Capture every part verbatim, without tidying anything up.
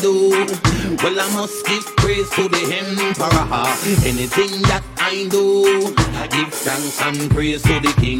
do, well I must give praise to the Emperor. Anything that I do, I give thanks and praise to the King.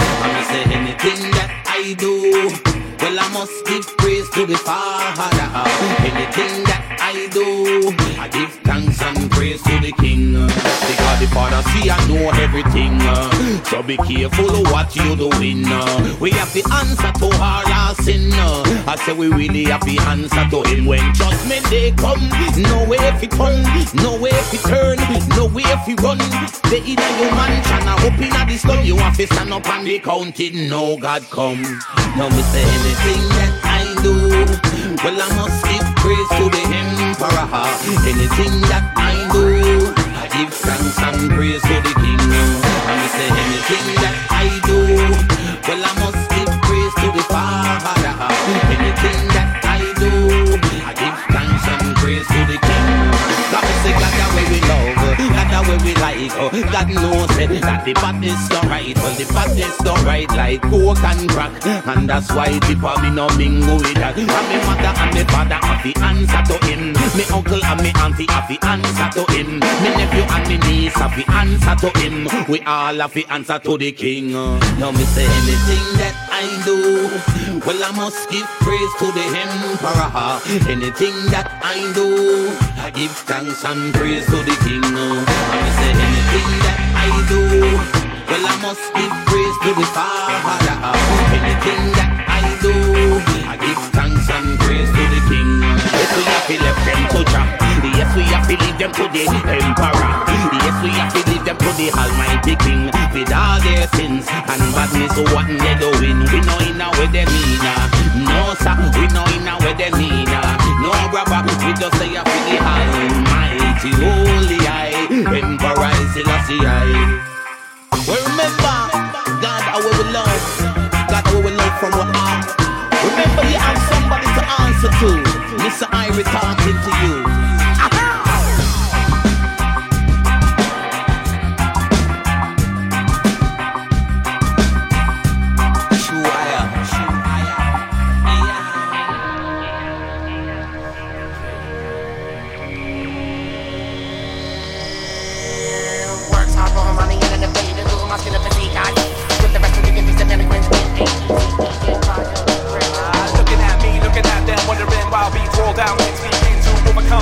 I say anything that I do, well I must give praise to the Father. Anything that I do, I give thanks and praise to the King. Because the Father see and know everything. So be careful of what you doing. We have the answer to all our sin. I say we really have the answer to him. When judgment day come, no way if it turn, no way if it turn, no way if it run. They either you mansion or up in the slum. You have to stand up and be counted. No God come. Now me say anything that I do, well I must give praise to the Emperor. Anything that I do, I give thanks and praise to the King. And me say anything that I do, well I must give praise to the Father. Anything that I do, I give thanks and praise to the King. God me say God the way we love, God the way we like. God knows that the badness don't right, well the badness don't right like coke and crack. And that's why people me no mingle with that. And me mother and me father have the answer to him. Me uncle and me auntie have the answer to him. Me nephew and me niece have the answer to him. We all have the answer to the King. Now me say anything that I do, well I must give praise to the Emperor. Anything that I do, I give thanks and praise to the King. And me say anything that I do, well I must give praise to the Father. Anything that I do, I give thanks and praise to the King. Yes, we have to left them to Jah. Yes, we have to leave them to the Emperor. Yes, we have to leave them to the Almighty King. With all their sins and badness, what they doing? We know in a way they mean. No sir, we know in a way they mean. No brother, we just say I feel the Almighty Holy I, Emperor Selassie I. Well, remember, God, how we will love, God, how we will love from our heart. Remember, you have somebody to answer to. Mister Irie talking to you. Looking at me, looking at them, wondering why we fall down, it's begin to overcome.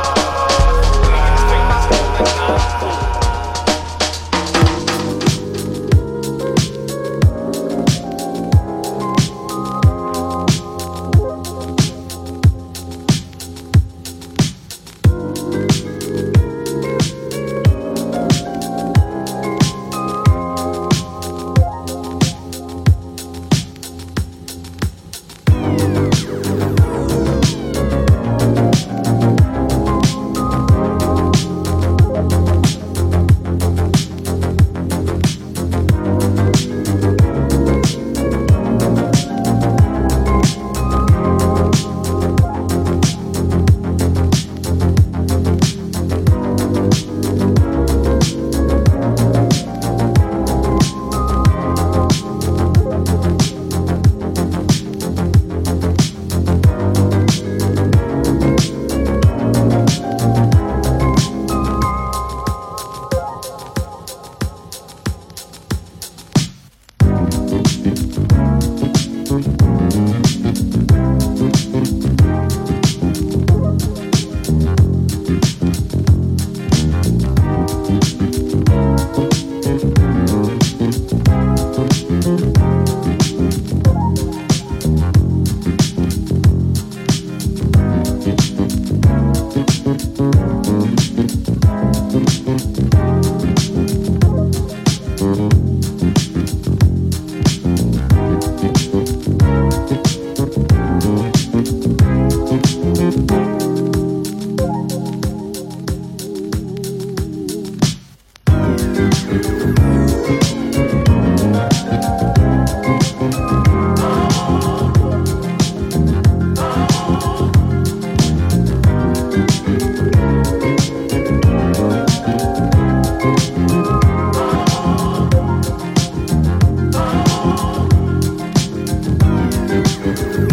Thank